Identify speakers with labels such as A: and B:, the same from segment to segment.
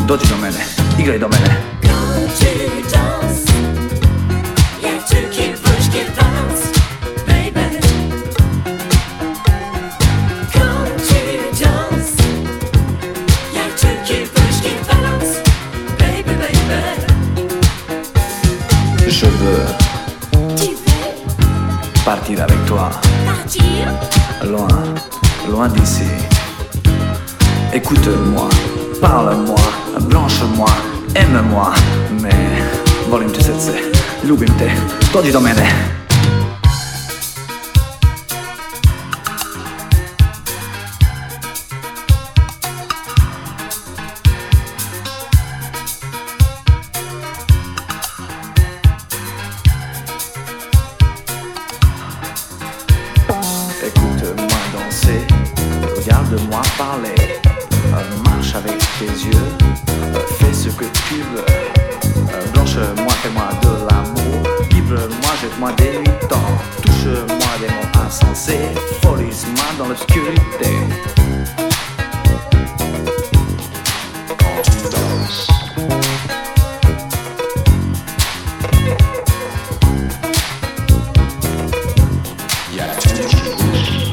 A: dođi do mene, igraj do mene.
B: Quand tu danses, y'a tout qui bouge, qui balance, baby. Quand tu danses, y'a tout qui bouge, qui balance, baby, baby.
A: Je veux
B: Tu veux
A: partir avec toi,
B: partir?
A: loin, loin d'ici. Écoute-moi, parle-moi, blanche-moi, aime-moi. Mais volim te srce, ljubim te, dođi do mene. Écoute-moi danser, regarde-moi parler, marche avec tes yeux, fais ce que tu veux, blanche-moi, fais-moi de l'amour, livre-moi, jette-moi des nuits temps, touche-moi des mots insensés, folise-moi dans l'obscurité. Quand tu danses, y a tout qui bouge.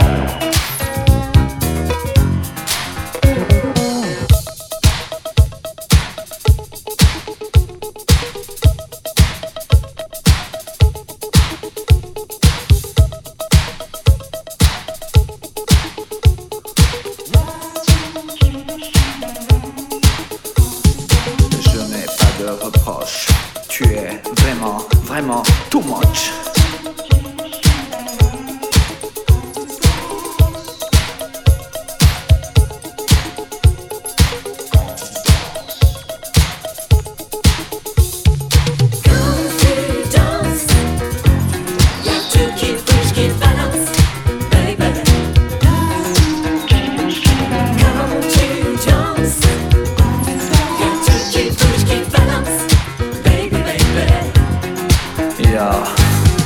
A: Je n'ai pas de reproche, tu es vraiment, vraiment too much.
B: Quand tu danses, y'a tout qui bouge, qui balance, baby. Quand tu danses, y'a tout qui bouge, qui balance, baby, baby.
A: Ja,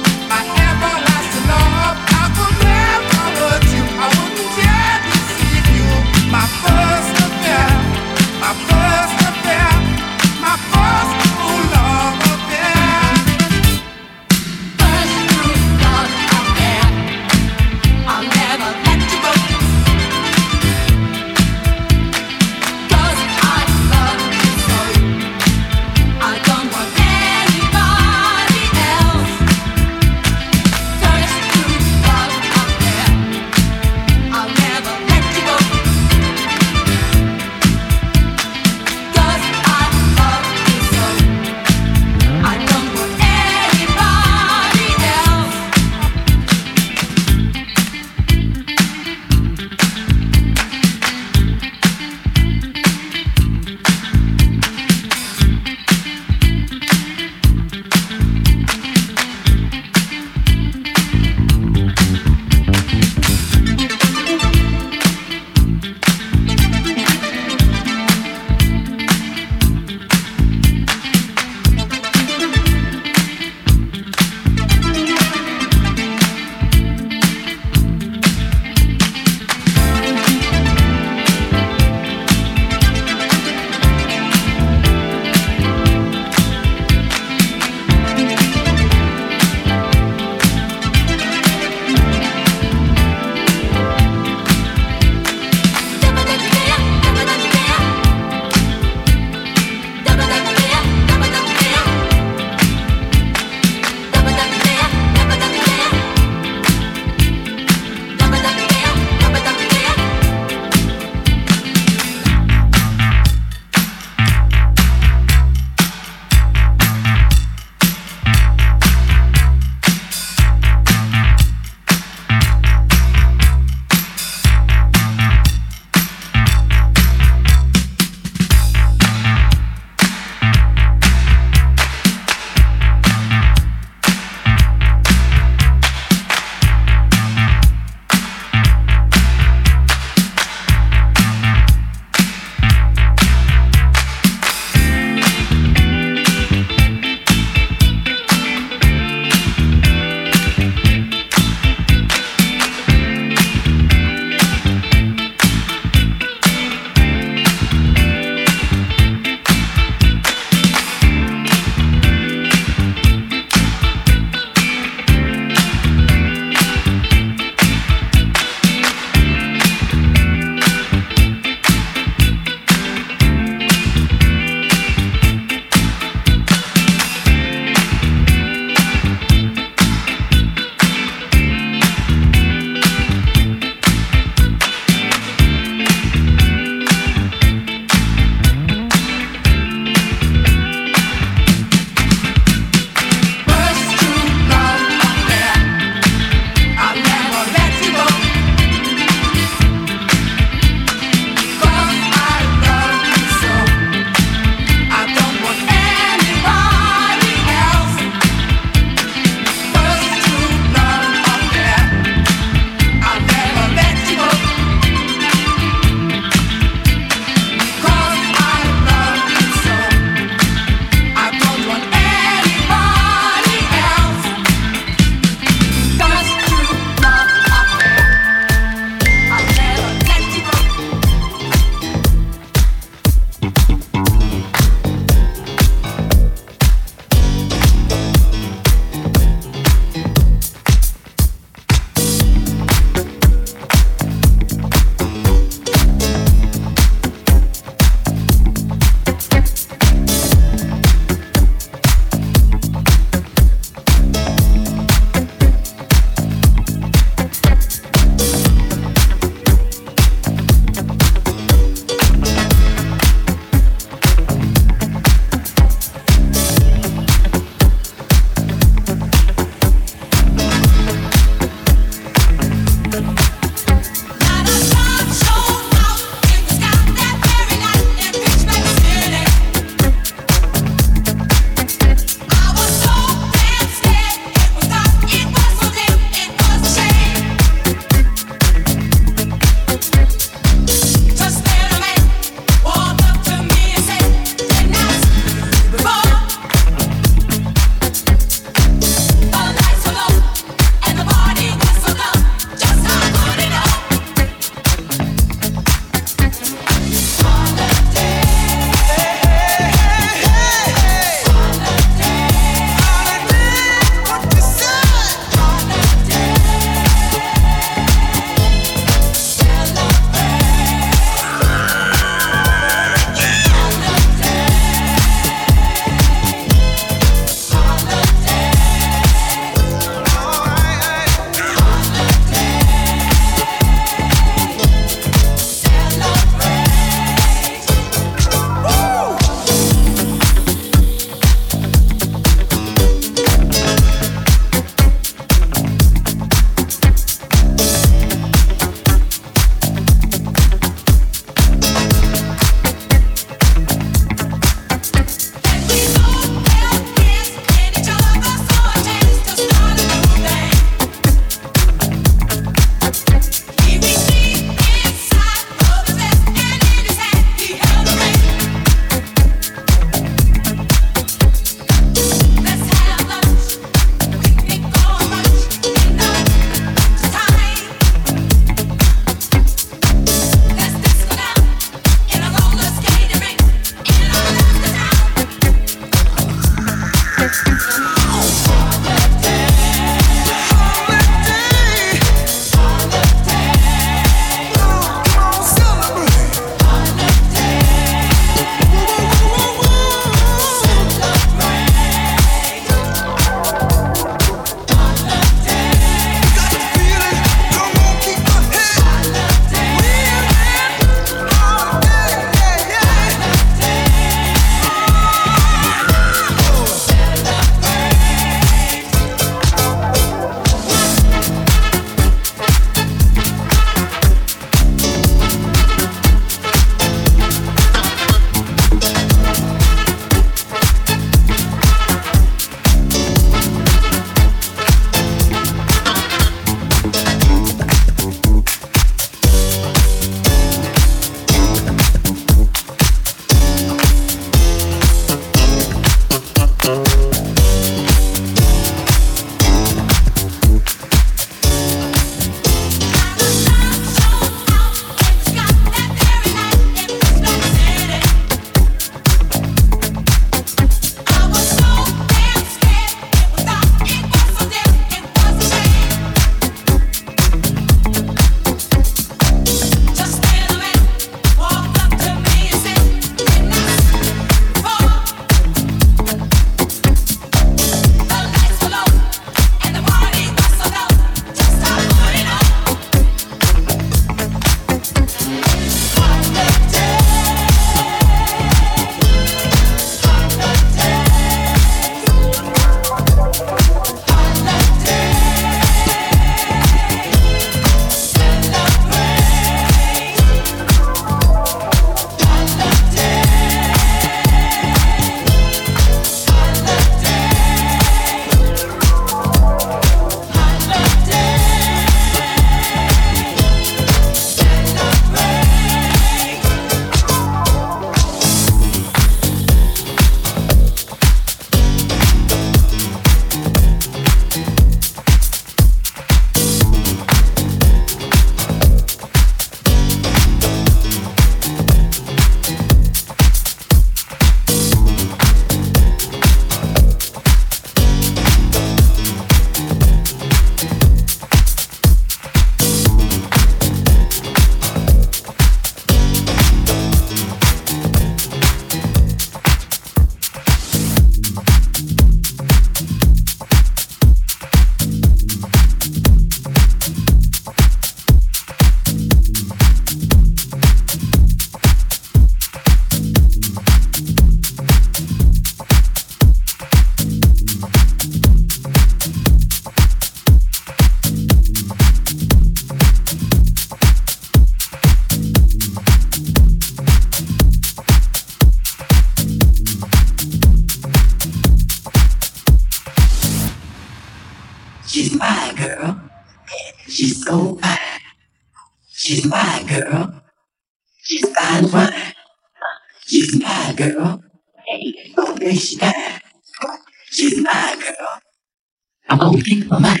C: girl. She's so fine. She's my girl. She's fine wine. She's my girl. Hey, oh, there she died. She's my girl. I'm gonna keep her mine.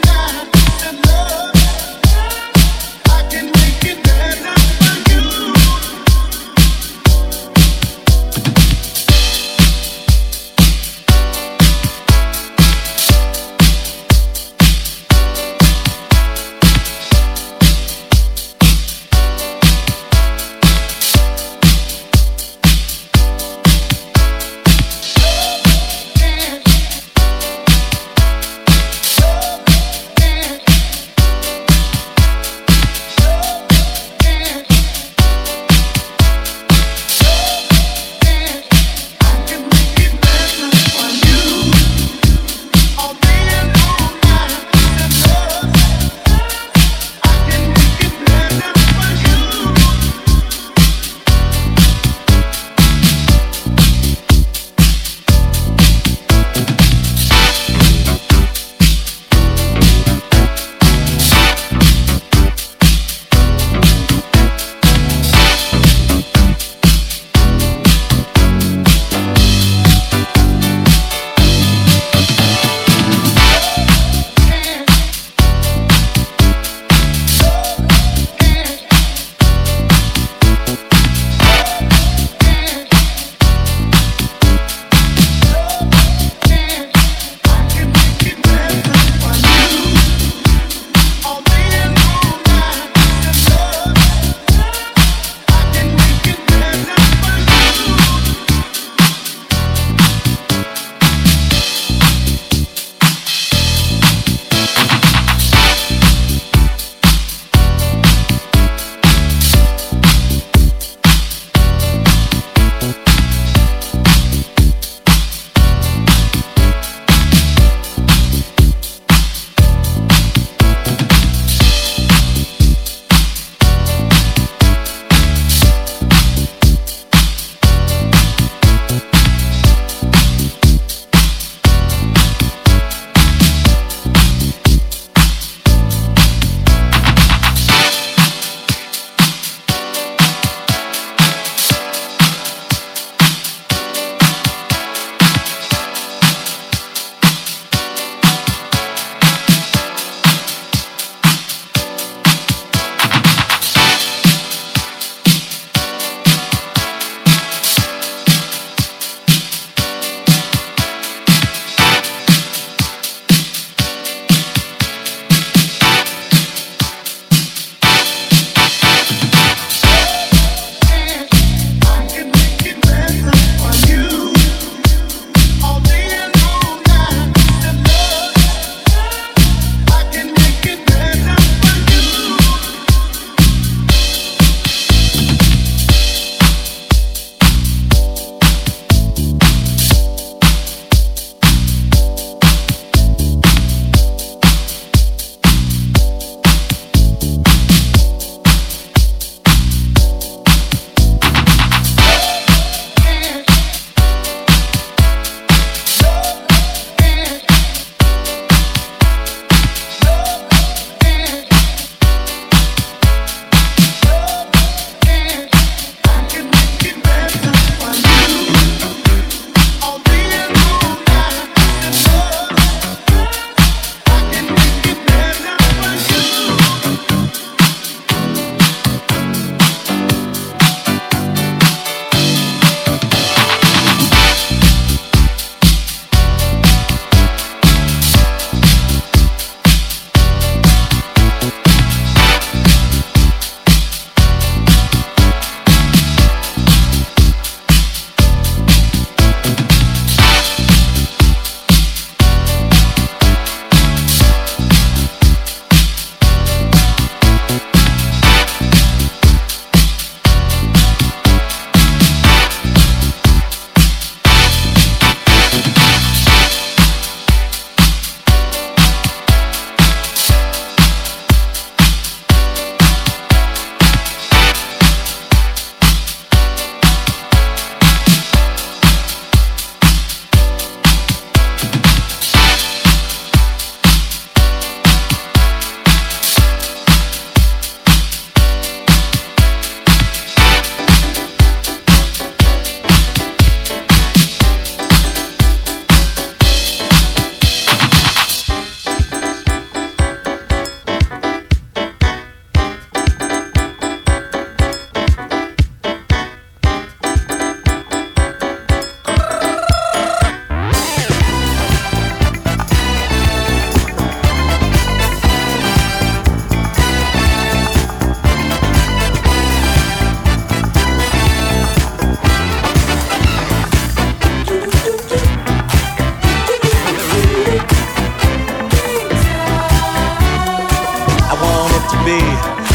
D: I can make it better for you.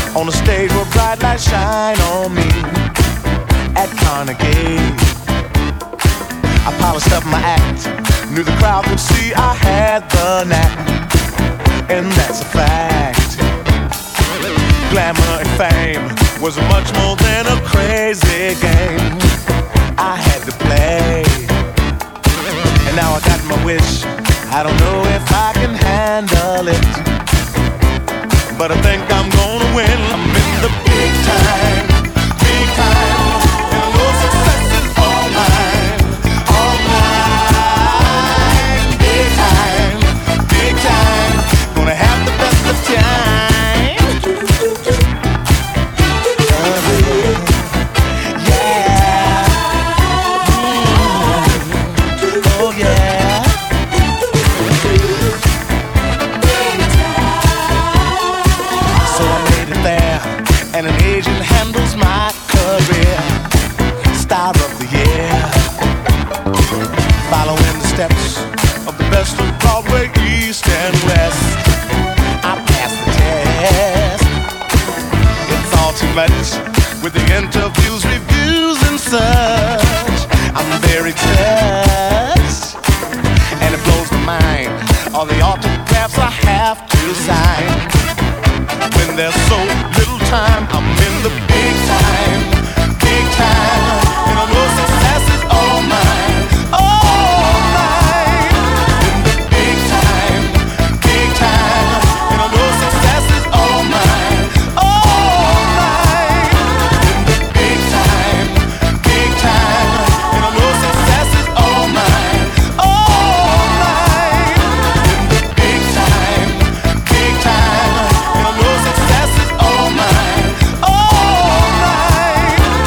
D: on a stage where bright lights shine on me at Carnegie. I polished up my act, knew the crowd would see I had the knack, and that's a fact. Glamour and fame was much more than a crazy game I had to play. And now I got my wish, I don't know if I can handle it, but I think I'm gonna win. I'm in the big time, big time, and I know success is all mine, all mine. Big time, gonna have the best of time. And an agent handles my career. Star of the year, following the steps of the best of Broadway, East and West. I passed the test. It's all too much with the interviews, reviews, and such. I'm very touched, and it blows my mind, all the autographs I have to sign. When there's so little time, I'm in the big time, and I know success is all mine, all mine. In the big time, and I know success is all mine, all mine. In the big time, and I know success is all mine, all mine. In the big time, and I know success is all mine, all mine.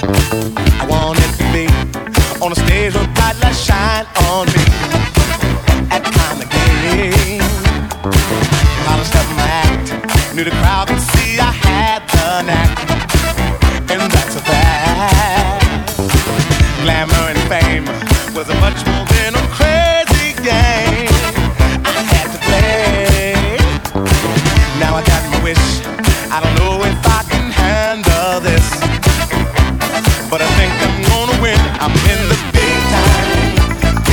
D: I wanted to be on a stage where bright lights shine on me. At Carnegie, polished up my act, knew the crowd could see I had the knack, and that's a fact. Glamour and fame was a much more than a crazy game I had to play. Now I got my wish, I don't know if I can handle this, but I think I'm gonna win. I'm in the big time,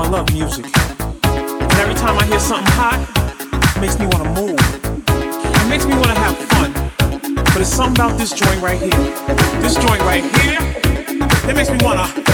E: love music. And every time I hear something hot, it makes me want to move. It makes me want to have fun. But it's something about this joint right here. This joint right here, it makes me want to...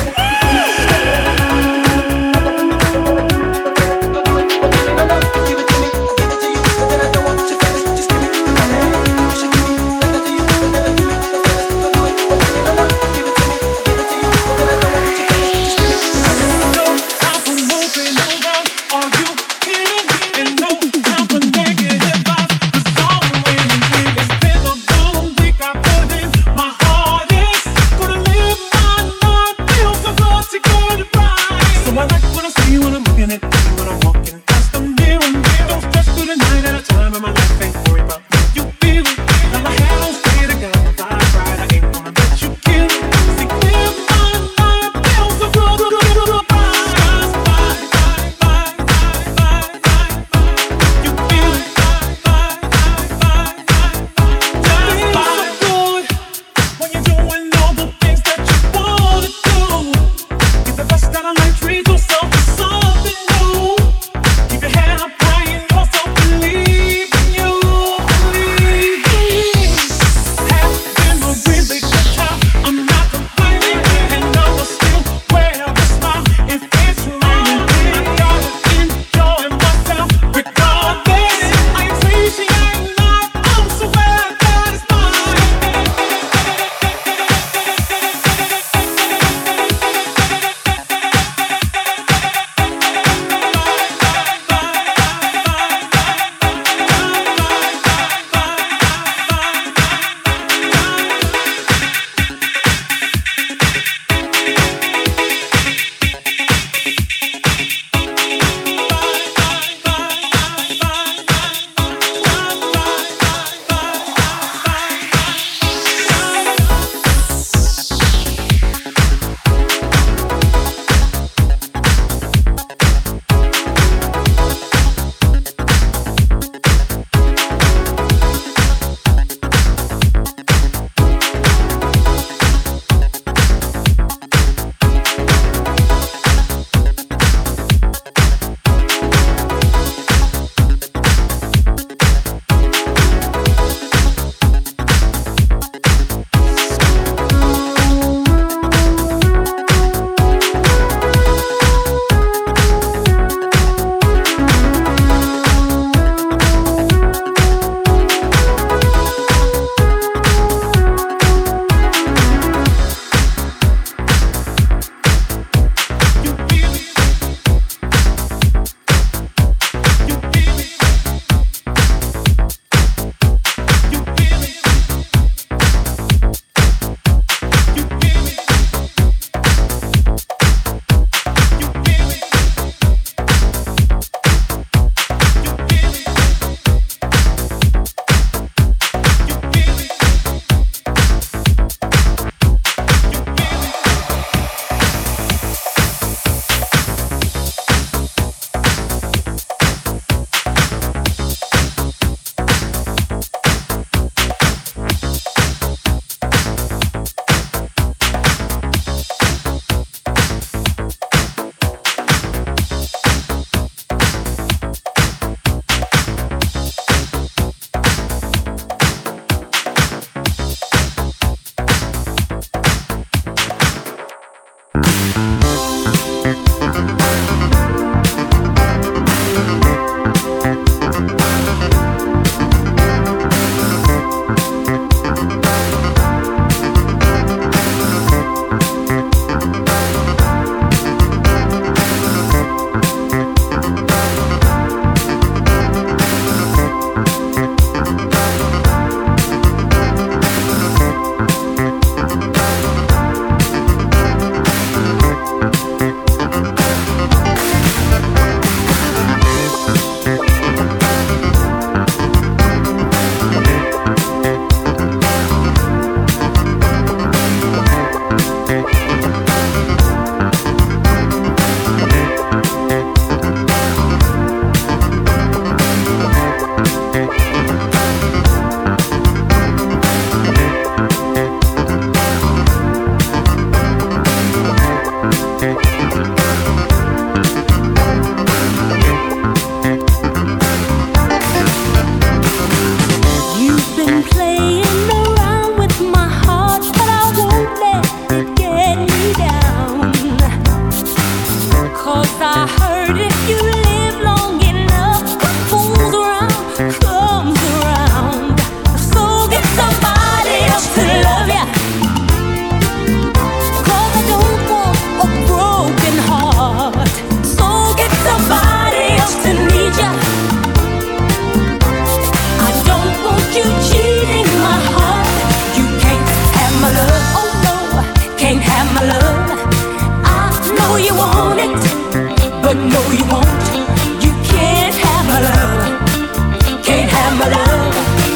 B: but no you won't. You can't have my love. Can't have my love.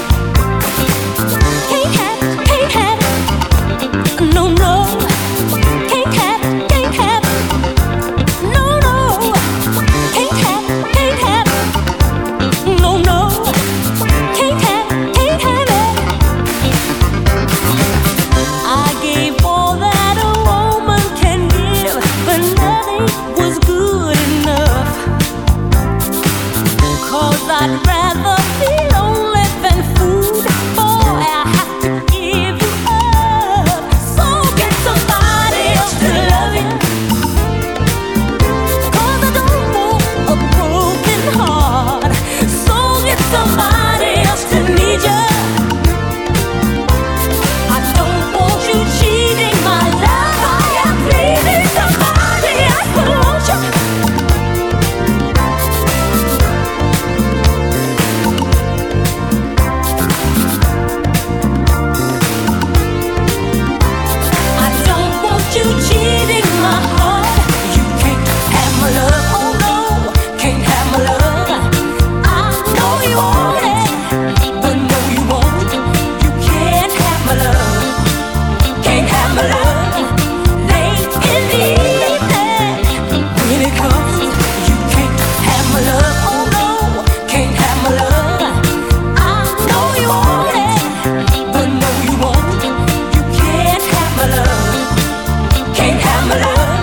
B: Can't have it, can't have it. No, no. Can't have it, can't have it. No, no. Can't have it, can't have it. No, no. Can't have it, can't have it. I gave all that a woman can give, but nothing was good enough. 'Cause I'd rather be lonely than food. Boy, I have to give you up. So get somebody else to love you. 'Cause I don't want a broken heart. So get somebody else to need you. I don't want you cheating my love. I am pleasing somebody else, won't you? I don't want you cheating my heart. You can't have my love, oh no, can't have my love. I know you want it, but no you won't. You can't have my love, can't have my love. Late in the evening, when it comes, you can't have my love, oh no, can't have my love. I know you want it, but no you won't. You can't have my love, can't have my love.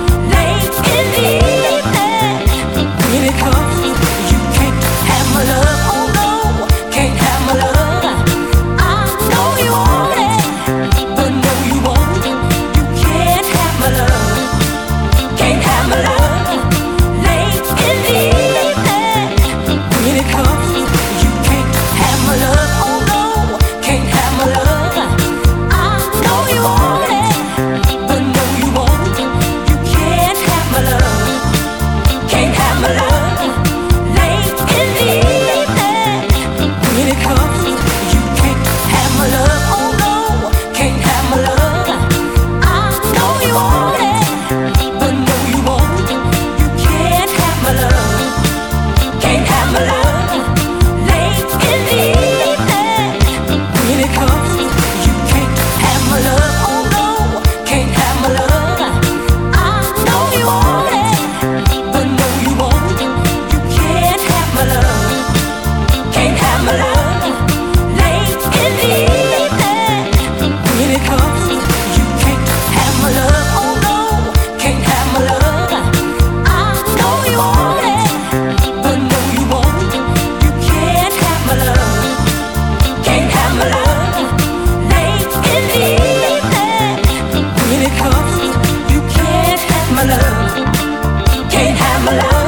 B: Late in the evening, when it comes, you can't have my love, oh no, can't have my love. I know you want it, but no you won't. You can't have my love, can't have my love. Late in the evening, when it comes, you can't have my love, oh no, can't have my love. I know you want it, but no you won't. You can't have my love, can't have my love. Late in the evening, when it comes, you can't have my love, oh no, can't have my love. I know you want it, but no you won't. You can't have my love, can't have my love. Late in the evening, when it comes, you can't have my love, oh no, can't have my love. I know you want it, but no you won't. You can't have my love, can't have my love. Late in the evening, when it comes, you can't have my love, oh no, can't have my love. I know you want it, but no you won't. You can't have my love, can't have my love. Late in the evening, when it comes, you can't have my love, can't have my love.